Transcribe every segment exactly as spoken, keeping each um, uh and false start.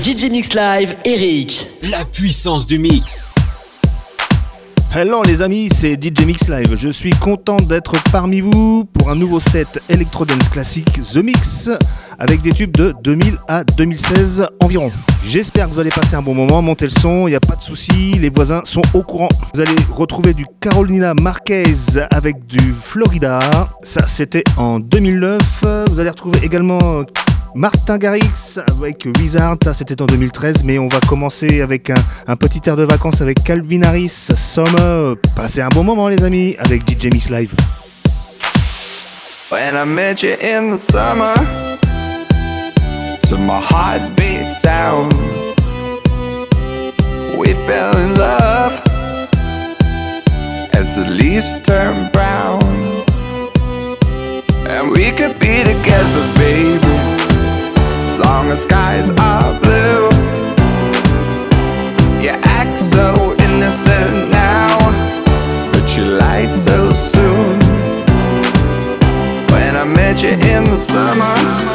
D J Mix Live, Eric. La puissance du mix. Hello les amis, c'est D J Mix Live. Je suis content d'être parmi vous pour un nouveau set Electro Dance classique The Mix avec des tubes de deux mille à deux mille seize environ. J'espère que vous allez passer un bon moment, montez le son, il n'y a pas de souci, les voisins sont au courant. Vous allez retrouver du Carolina Marquez avec du Florida, ça c'était en deux mille neuf. Vous allez retrouver également Martin Garrix avec Wizard, ça c'était en deux mille treize, mais on va commencer avec un, un petit air de vacances avec Calvin Harris, Summer. Passez un bon moment les amis avec D J Mix Live. When I met you in the summer, to my heartbeat sound, we fell in love as the leaves turn brown, and we could be together, baby, as long as skies are blue. You act so innocent now, but you lied so soon. When I met you in the summer,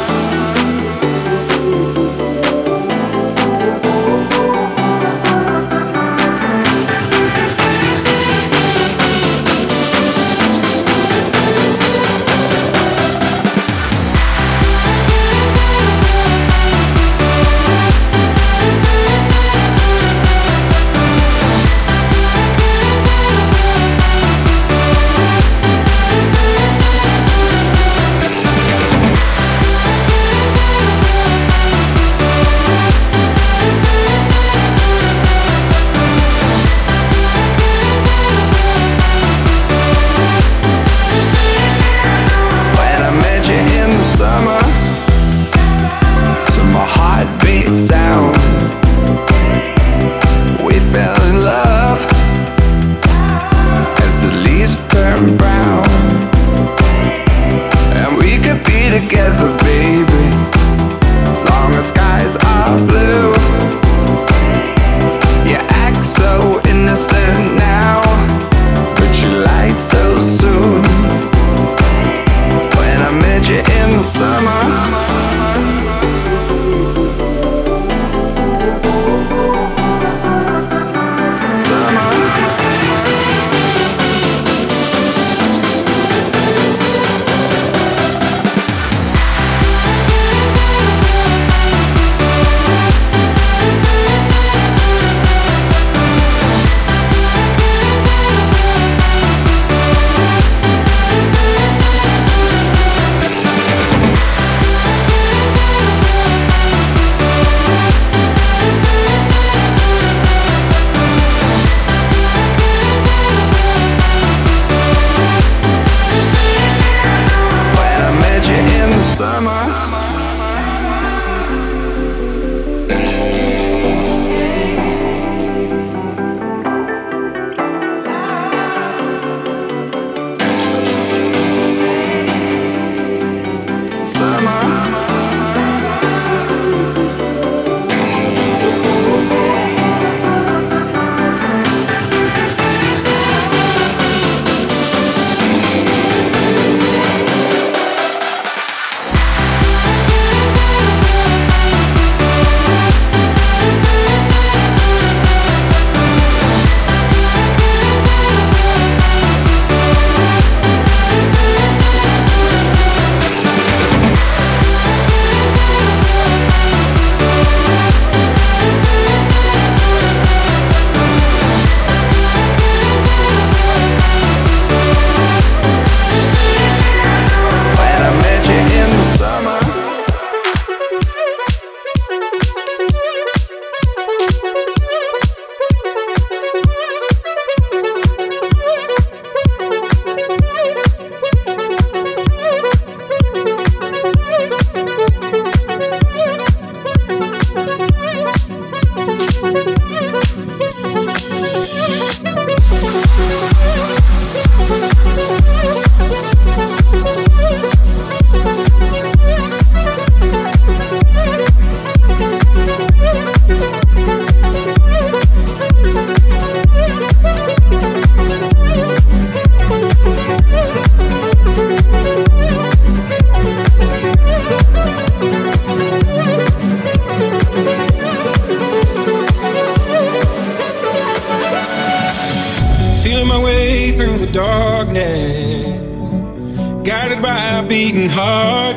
beating heart.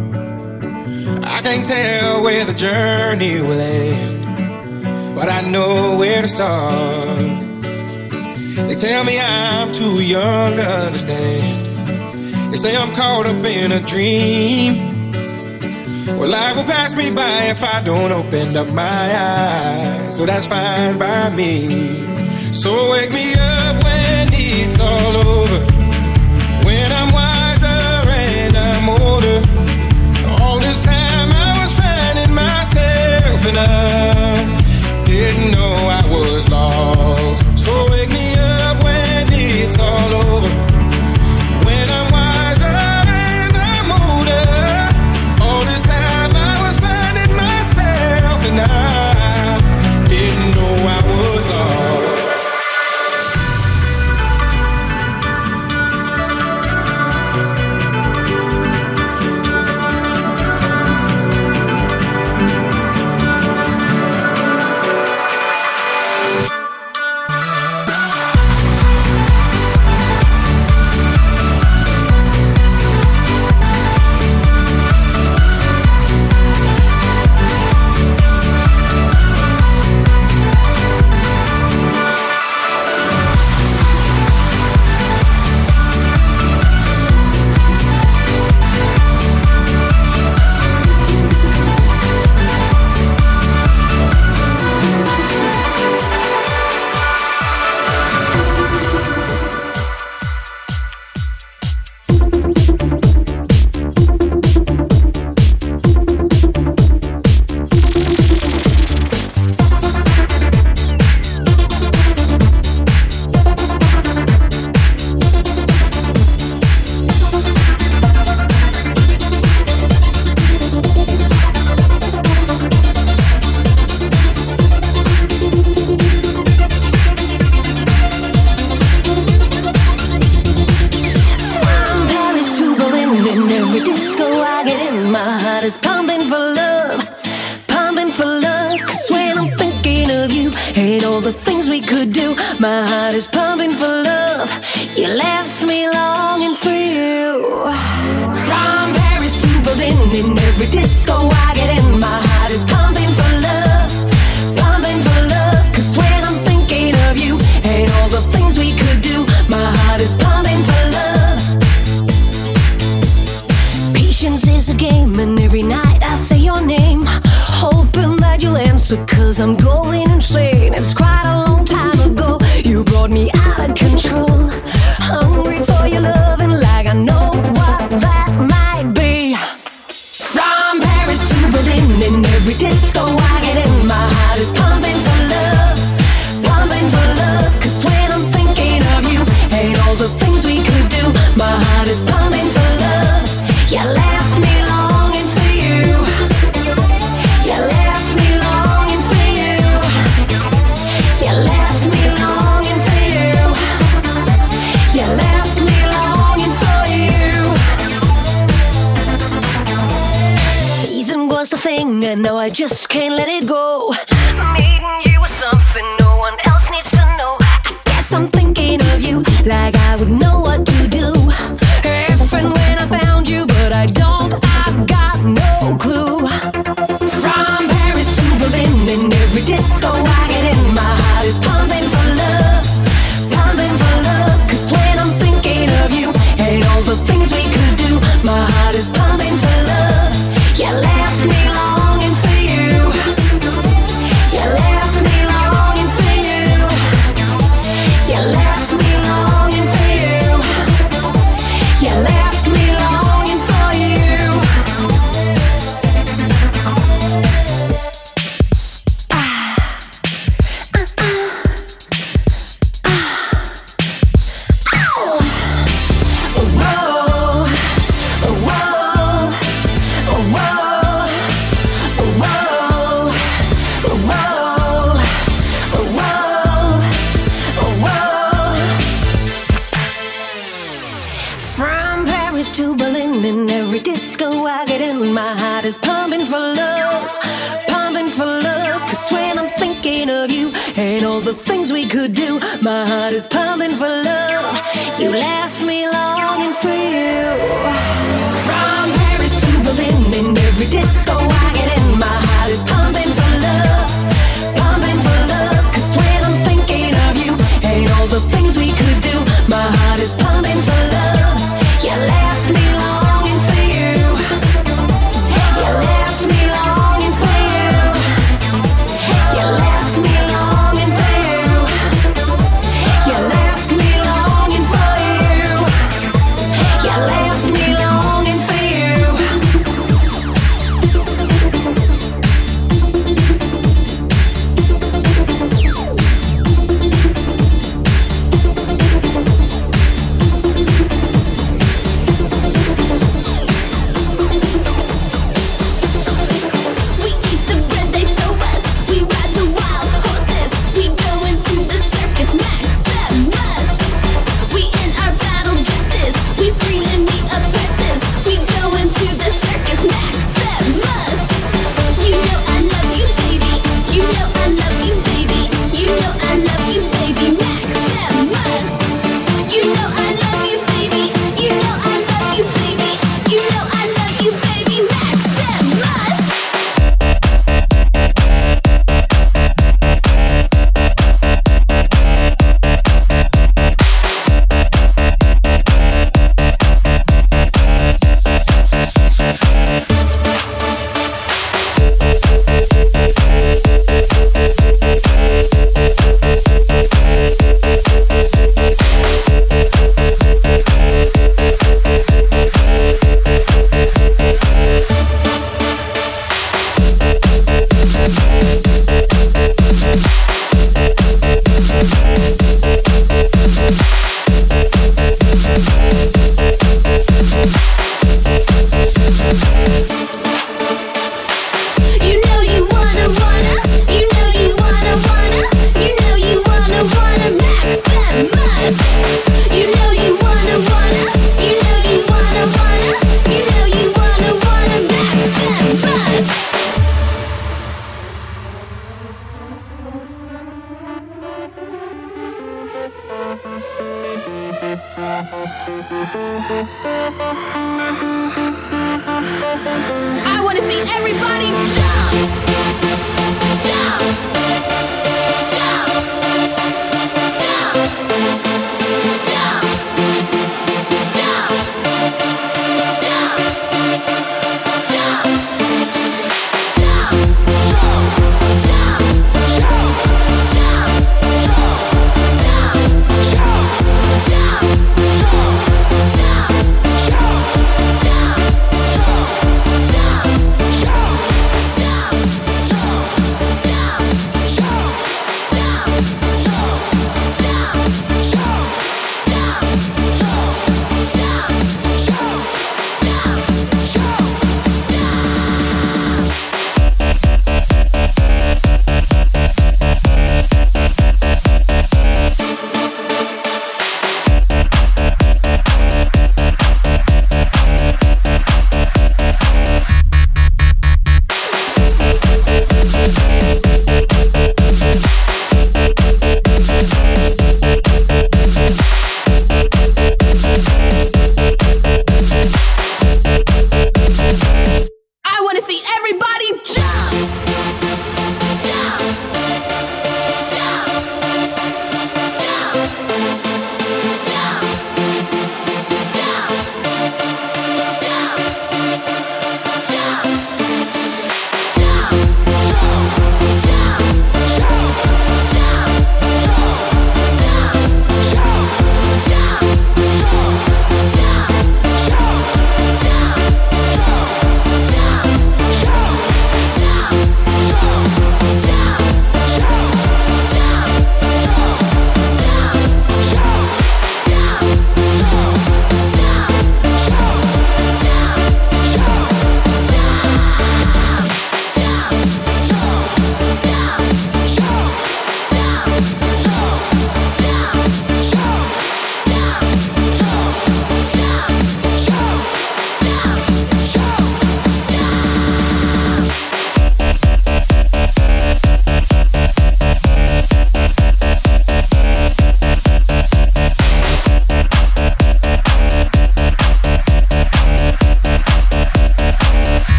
I can't tell where the journey will end, but I know where to start. They tell me I'm too young to understand. They say I'm caught up in a dream. Well, life will pass me by if I don't open up my eyes. Well, that's fine by me. So wake me up when it's all over, when I'm wiser and I'm older. All this time I was finding myself and I didn't know I was lost. So wake me up when it's all over, when I'm wiser and I'm older. All this time I was finding myself and I didn't know I was lost. Cause I'm going insane. It's quite a long time ago. You brought me out of control. Hungry for your loving like I know what that might be. From Paris to Berlin, in every disco I get in, my heart is pumping for love, pumping for love. Cause when I'm thinking of you and all the things we could do, my heart is pumping for love. You left me longing for you. You left me longing for you. You left me longing for you. You left me longing for you. Season was the thing, and now I just can't let it go. Meeting you was something no one else needs to know. I guess I'm thinking of you like I would know what to do if and when I found you, but I don't. I've got no clue. From Paris to Berlin, in every disco I get in, my heart is pumping for love, pumping for love. Cause when I'm thinking of you and all the things we could do, my heart is pumping for love. You left me longing for you. You left me longing for you. You left me longing for you. You left me longing for you. From Paris to Berlin, in every disco I get in, my heart is pumping for love, pumping for love. Cause when I'm thinking of you and all the things we could do, my heart is pumping for love. You left me longing for you. From I wanna see everybody jump, jump, jump, jump, jump, jump, jump, jump, jump, jump,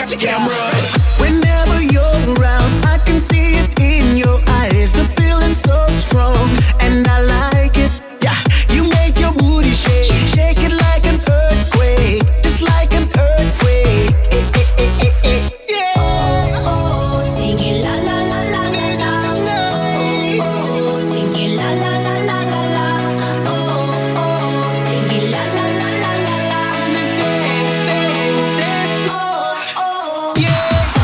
got your cameras. Whenever you're around, I can see it in your eyes. The feeling's so strong, and I like it. Yeah, you make your booty shake, shake it like an earthquake, just like an earthquake. Eh, eh, eh, eh, eh. Yeah. Oh, oh, sing it la la la la la la. Oh, oh, sing it la la la la la la. Oh, oh, sing it la la la la la la. Dance, dance, dance. Oh, oh. Yeah.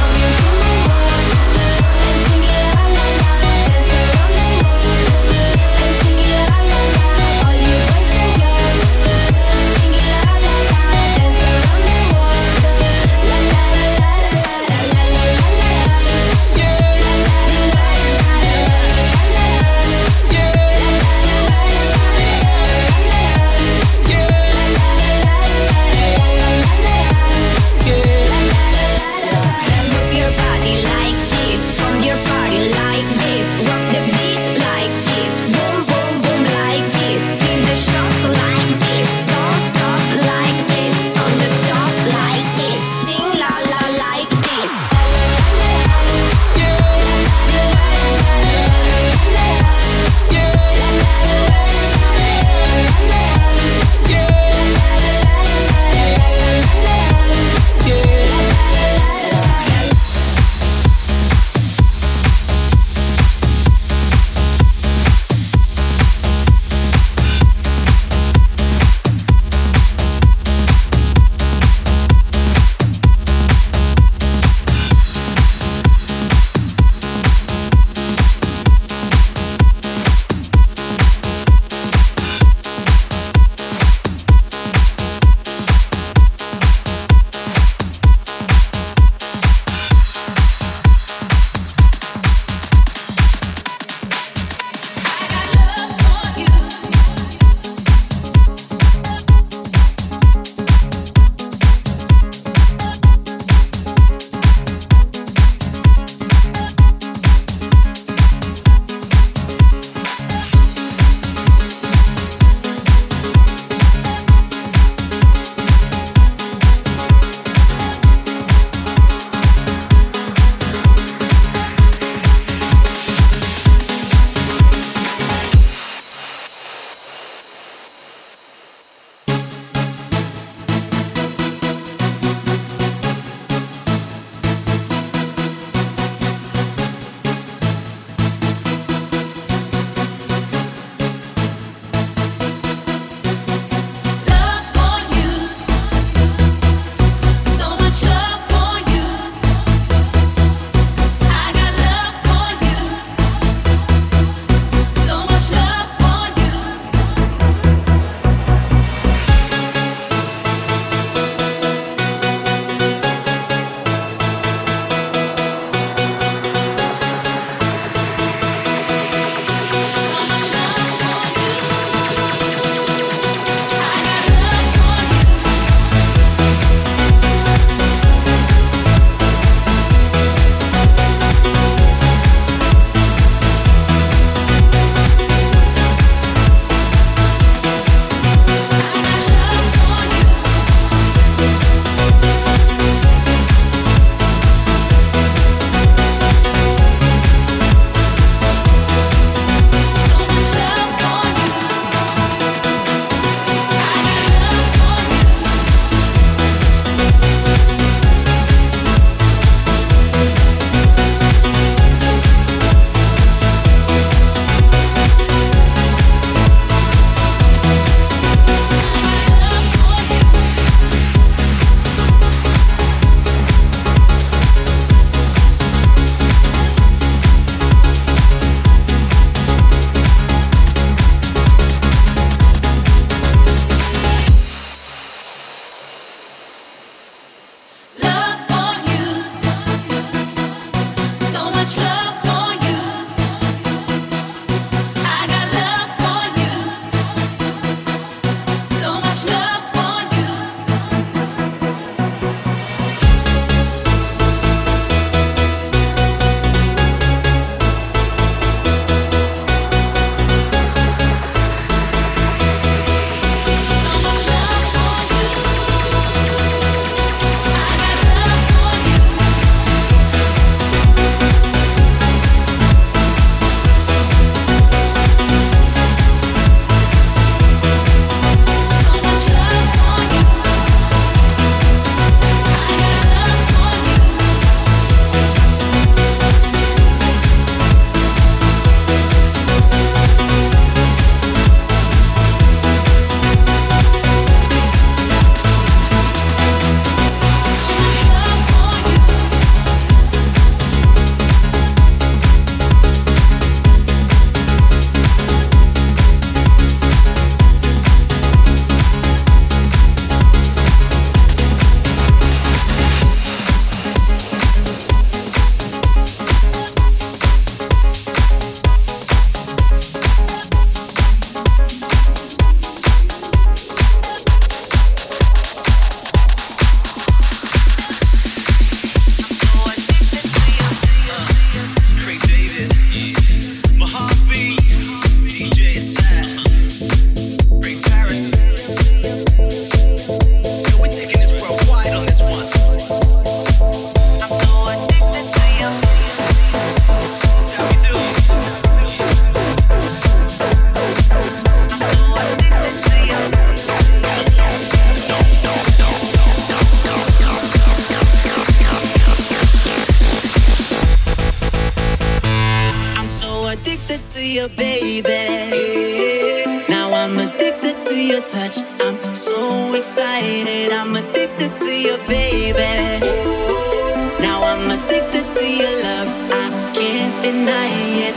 you, baby. Now I'm addicted to your touch. I'm so excited. I'm addicted to you, baby. Now I'm addicted to your love. I can't deny it.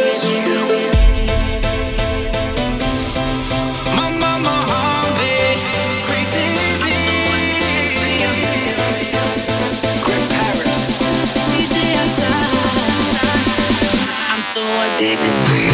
Addicted to you.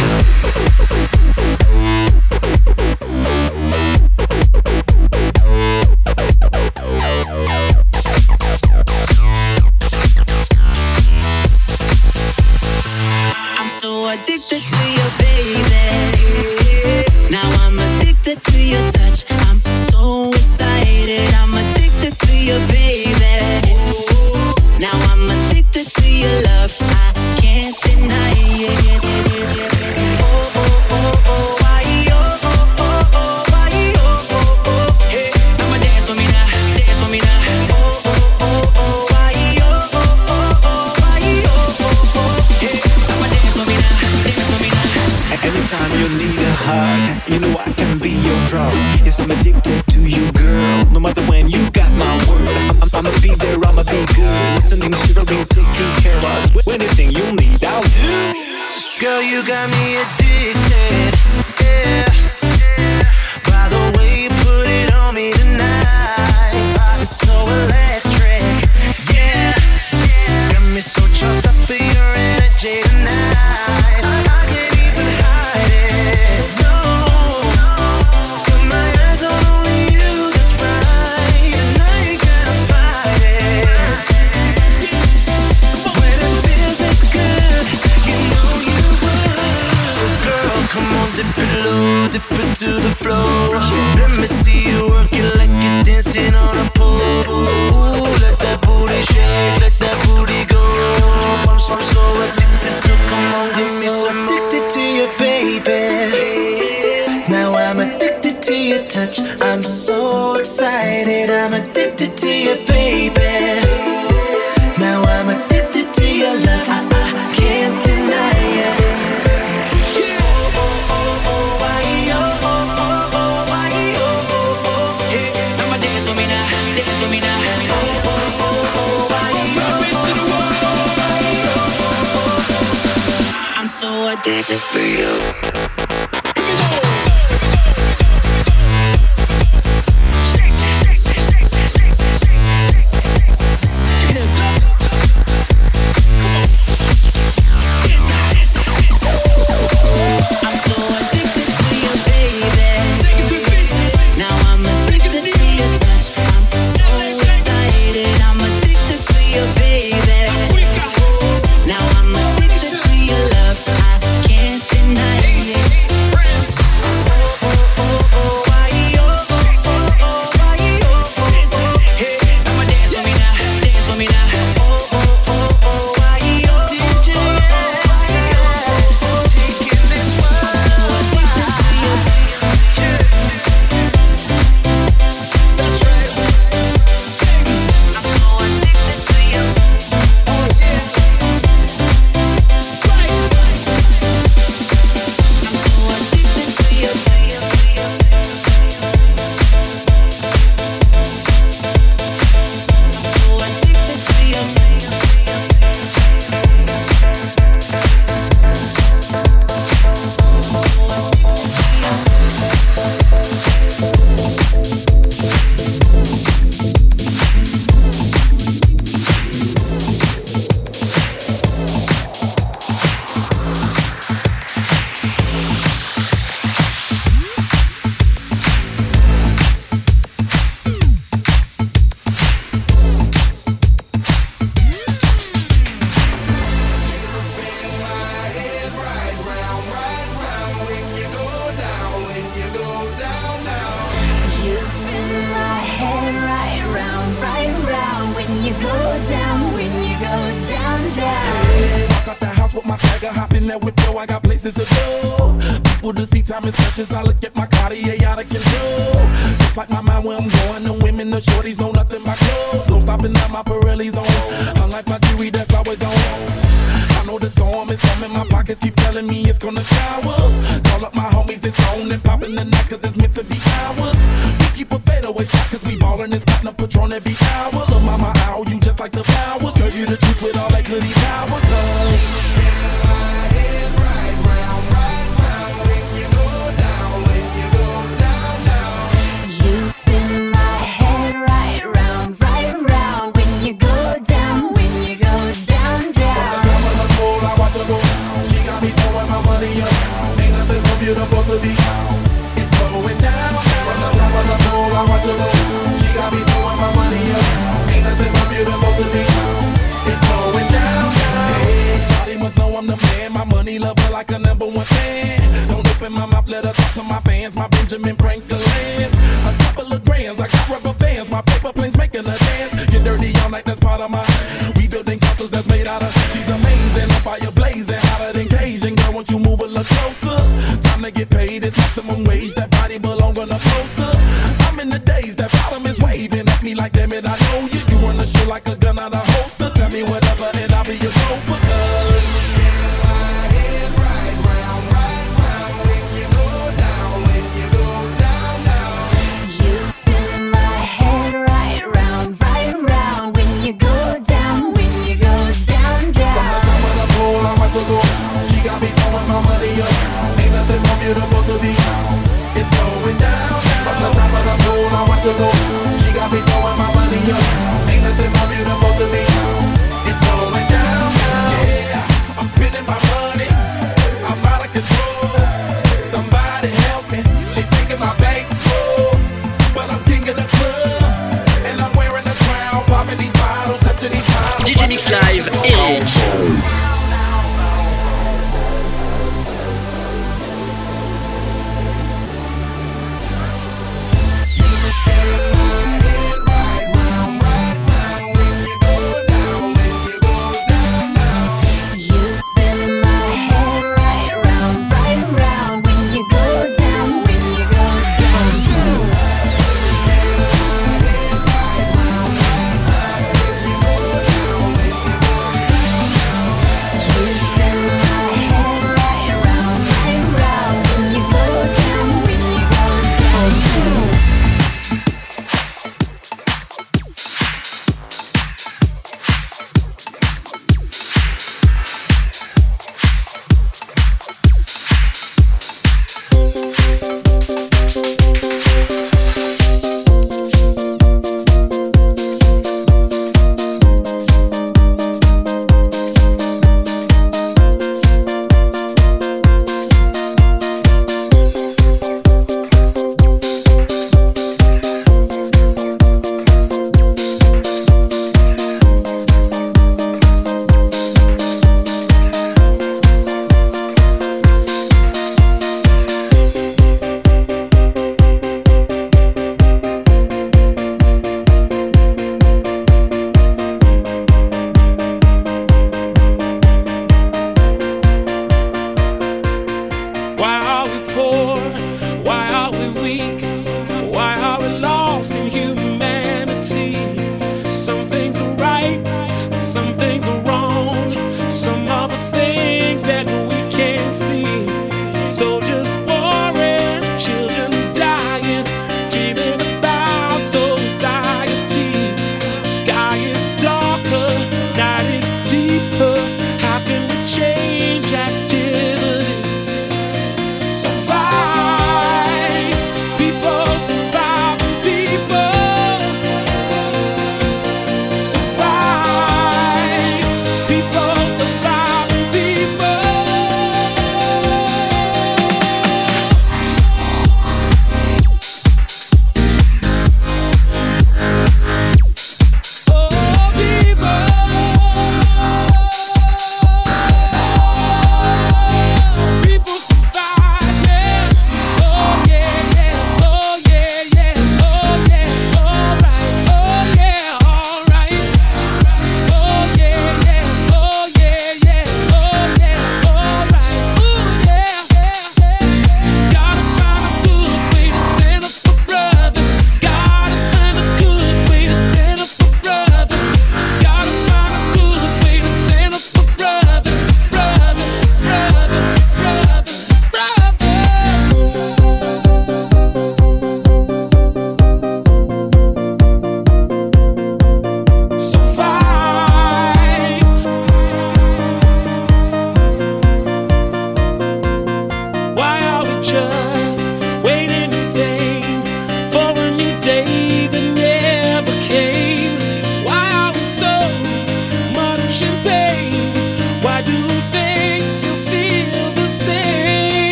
I'm so addicted to you, baby. Now I'm addicted to your touch. I'm so excited. I'm addicted to you, baby. Now I'm addicted to your love. I can't deny it. Anytime you need a hug, you know I can be your drug. Yes, I'm addicted to you, girl. No matter when, you got my word. I'm, I'ma be there, I'ma be good. Listening, shivering, taking care of anything you need, I'll do. Girl, you got me addicted, yeah. By the way you put it on me tonight, body so electric, yeah. Got me so charged up for your energy tonight. I, I can't even hide it, no. Got my eyes on only you, that's right. And I ain't gonna fight it. When it feels this good, you know you would. So girl, come on, dip it low, dip it to the floor. Let me see you work it like you're dancing on a pole. Ooh, let that booty shake, let that booty go. I'm so, I'm so addicted, so come on, give me some. Addicted to you, baby. Now I'm addicted to your touch. I'm so excited. I'm addicted to you, baby. Now I'm addicted to your love. I, I can't deny it. I'm so addicted for you. Now I'm addicted to your love. I can't deny it. swagger, hop in that whip, yo, I got places to go. People to see, time is precious. I look at my Cartier out of control. Just like my mind where I'm going, the women, the shorties know nothing but clothes. No stopping at my Pirelli's on. Unlike my jewelry that's always on. I know the storm is coming, my pockets keep telling me it's gonna shower. Call up my homies, it's on and popping the night cause it's meant to be ours. We keep a fadeaway shot cause we ballin' this platinum Patron every hour. Look mama, ow, you just like the flowers. Girl, you the truth with all that goody power. You spin my head right round, right round when you go down, when you go down, down. I watch her go. She got me throwing my money up. Ain't nothing more beautiful to be. It's going down. From the top of the pole, I watch her go. She got me throwing my money up. Ain't nothing more beautiful to be. It's going down. Hey, Charlie must know I'm the man. My money lover like a number one fan. Don't open my mouth, let her talk to my fans. My Benjamin Franklin's. A couple of grands, I got rubber bands. My paper planes making a dance. Get dirty all night, that's part of my. We building castles that's made out of. She's amazing, on fire blazing, hotter than Cajun. Girl, won't you move a little closer? Time to get paid, it's maximum wage. That body belong on a poster. I'm in the days, that bottom is waving at me like, damn it, I know you. You run the show like a gun out of holster. Tell me whatever, and I'll be your chauffeur. You spin my head right round, right round when you go down, when you go down, down. I watch her go. She got me throwing my money up. Ain't nothing more beautiful to be. It's going down. From the top of the pole, I watch her go. She got me throwing my money up. Ain't nothing more beautiful to me. It's going down. Yeah, I'm spending my money. I'm out of control. Somebody help me. She taking my bank full, but I'm king of the club, and I'm wearing a crown, popping these bottles, touching these bottles. D J Mix Live, Eric. Right, right, right.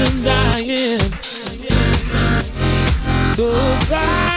I'm dying. So fly.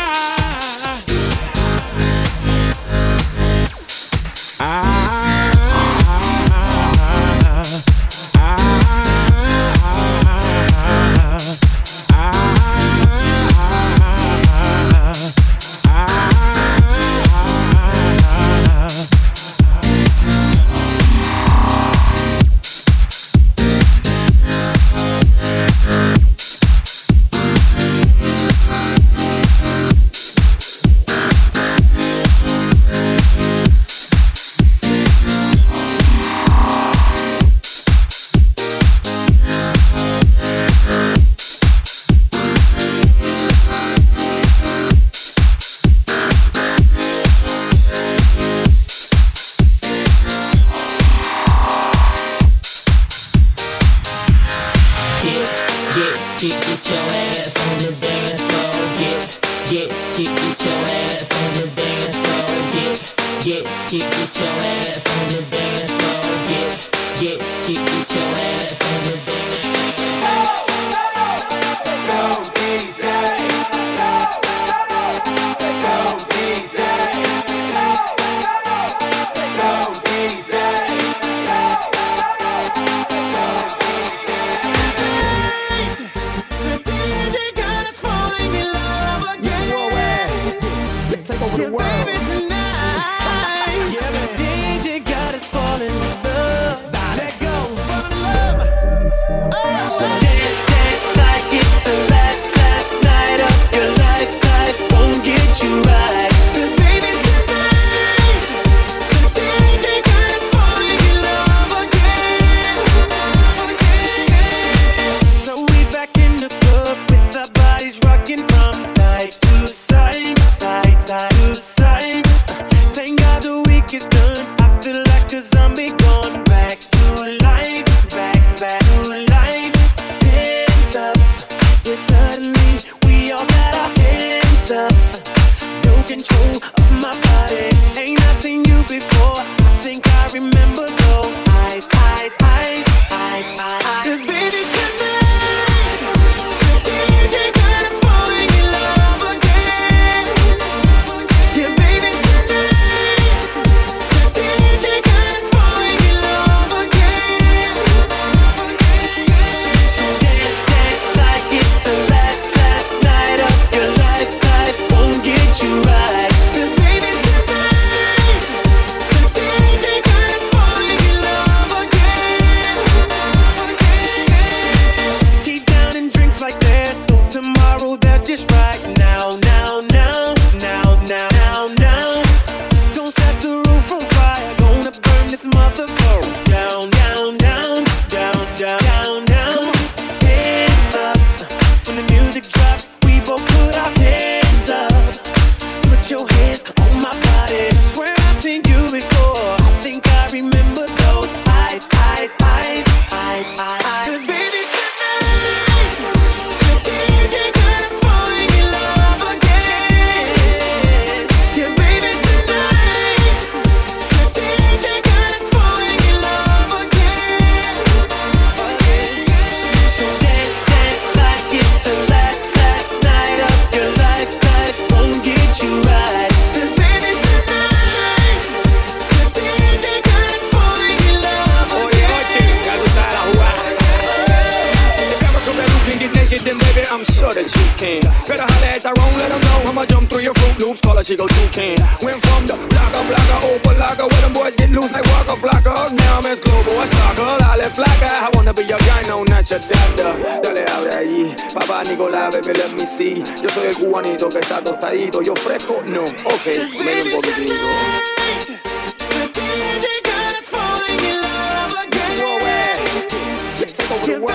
Yo soy el cubanito que está tostadito. Yo fresco, no. Ok, medio un poquitito. Let's take over the world.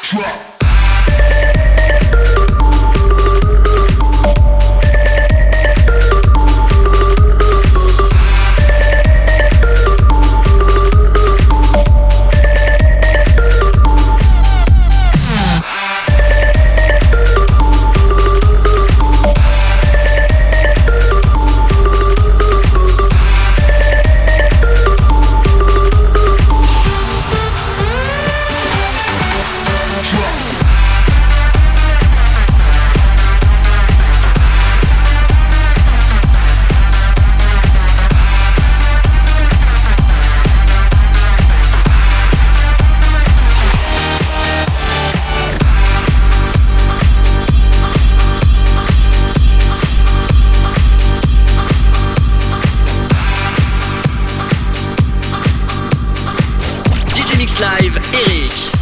Live, Eric.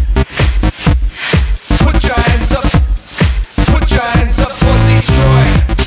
Put your hands up for Detroit.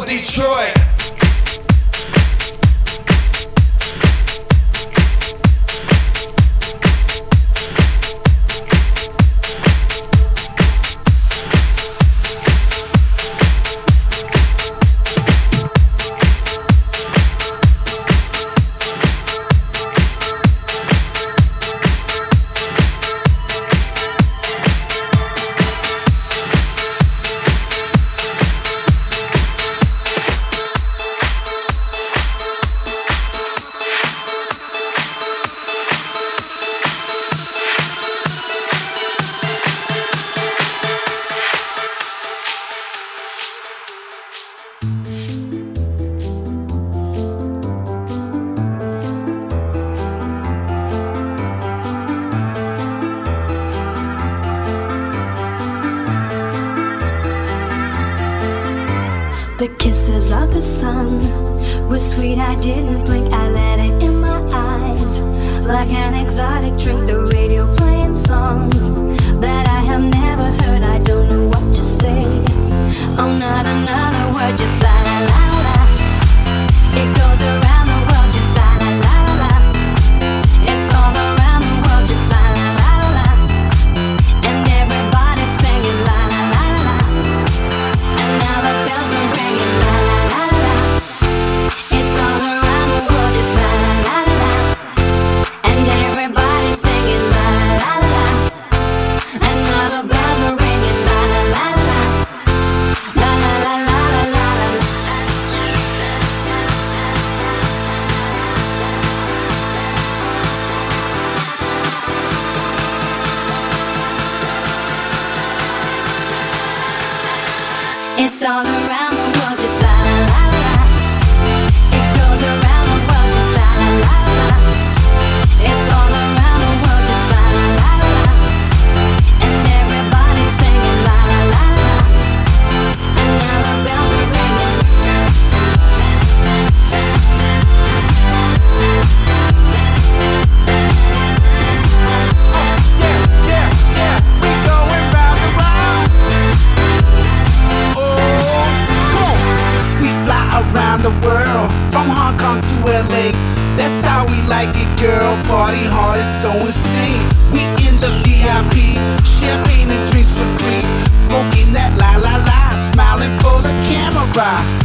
Detroit. The kisses of the sun were sweet, I didn't blink, I let it in my eyes. Like an exotic drink, the radio playing songs that I have never heard, I don't know what to say. Oh, not another word, just la la la la. It goes around the world, just la la la la. It's all around the world, just la la la la. And everybody's singing la la la la. And now the bells are ringing la la la la. It's all around the world, just la la la la. And everybody's singing la la la la. And now the bells are ringing la la la la. La la la la la la la. It's all around the world, just la la la la. It goes around the world, just la la la la. It's all around the world, just la la la la. And everybody's singing la la la la. And now the bells are ringing. Yeah, yeah, we going round and round. Oh, come on. We fly around the world, from Hong Kong to L A. That's how we like it, girl. Party hard, it's so insane. We in the V I P, champagne and drinks for free. Smoking that la la la, smiling for the camera.